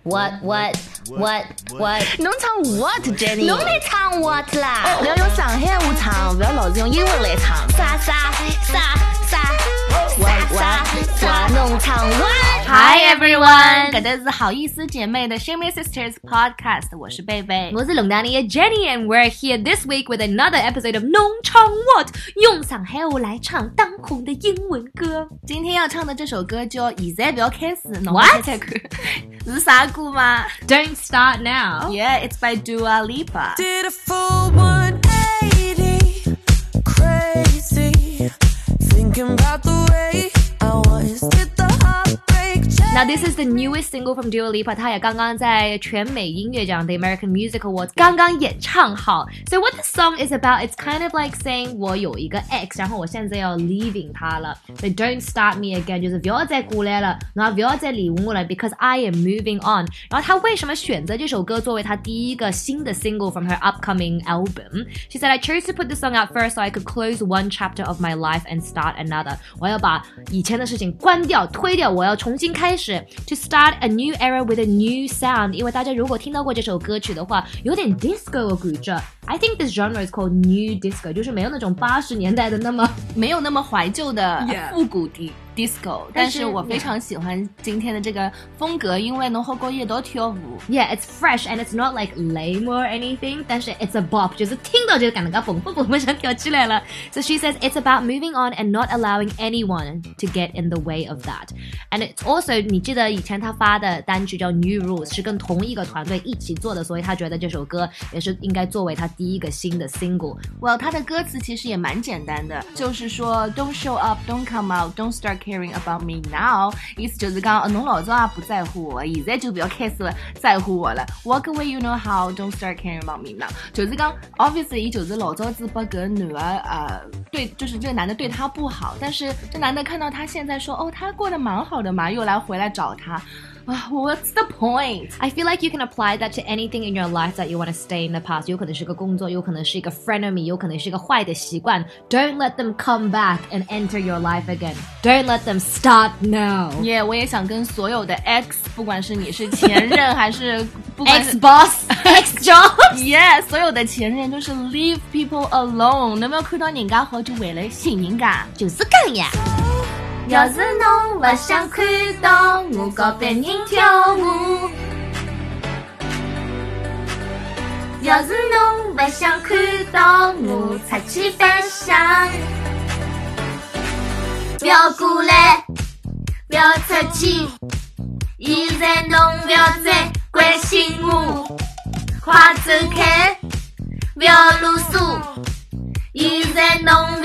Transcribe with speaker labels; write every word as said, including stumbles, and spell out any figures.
Speaker 1: What what what what？
Speaker 2: 侬唱 what Jenny？
Speaker 1: 侬来唱 what 啦？
Speaker 2: 不要用上海话唱，不要老是用英文来唱。
Speaker 1: 啥啥啥啥啥啥啥？侬唱 what？Hi
Speaker 2: everyone， 搿搭是好意思姐妹的 Shimmy Sisters Podcast， 我是贝贝，
Speaker 1: 我是龙丹妮的 Jenny，and we're here this week with another episode of 侬唱 what， 用上海话来唱当红的英文歌。
Speaker 2: 今天要唱的这首歌叫现在不要开始，侬
Speaker 1: What？
Speaker 2: 猜猜看是啥歌吗
Speaker 1: ？Don't start now.
Speaker 2: Yeah, it's by Dua Lipa.
Speaker 3: Did a full one eighty, crazy, thinking about the way I was. Did the heartbreak change?
Speaker 1: Now this is the newest single from Dua Lipa， 她也刚刚在全美音乐奖 The American Music Awards 刚刚演唱好。So what the song is about, it's kind of like saying 我有一个 ex， 然后我现在要 leaving 他了。So don't start me again， 就是不要再过来了，然后不要再理我了 ，because I am moving on。然后她为什么选择这首歌作为她第一个新的 single from her upcoming album? She said, I chose to put the song out first so I could close one chapter of my life and start another. 我要把以前的事情关掉、推掉，我要重新开始。To start a new era with a new sound， 因为大家如果听到过这首歌曲的话，有点 disco 的感觉。I think this genre is called new disco， 就是没有那种八十年代的那么
Speaker 2: 没有那么怀旧的
Speaker 1: Yeah.
Speaker 2: 复古的 disco， 但是我非常喜欢今天的这个风格，因为侬好过夜到跳舞。
Speaker 1: Yeah, it's fresh and it's not like lame or anything， 但是 it's a bop， 就是听到就感觉蹦蹦蹦想跳起来了。So she says it's about moving on and not allowing anyone to get in the way of that. And it's also 你记得以前她发的单曲叫 New Rules 是跟同一个团队一起做的，所以她觉得这首歌也是应该作为她第一个新的 single。Well，
Speaker 2: 她的歌词其实也蛮简单的，就是说 Don't show up, don't come out, don't start caring about me now， 意思就是讲侬老早也不在乎我，现在就不要开始在乎我了。Walk away, you know how, don't start caring about me now， 就是讲 obviously 伊就是老早子把搿男的呃对，就是这个男的对他不好，但是这男的看到他现在说哦他过得蛮好的嘛，又来回来找他。What's the point?
Speaker 1: I feel like you can apply that to anything in your life that you want to stay in the past. 有可能是个工作，有可能是一个 frenemy， 有可能是一个坏的习惯。Don't let them come back and enter your life again. Don't let them start now.
Speaker 2: Yeah, 我也想跟所有的 ex， 不管是你是前任还是不管是
Speaker 1: ex boss, ex job.
Speaker 2: Yeah, 所有的前任就是 leave people alone. 能不能看到人家好就为了寻人家，
Speaker 1: 就是这样。
Speaker 2: 要是侬不想看到我和别人跳舞，要是侬不想看到我出去白相，不要过来，不要出去，现在侬不要再关心我，快走开，不要啰嗦，现在侬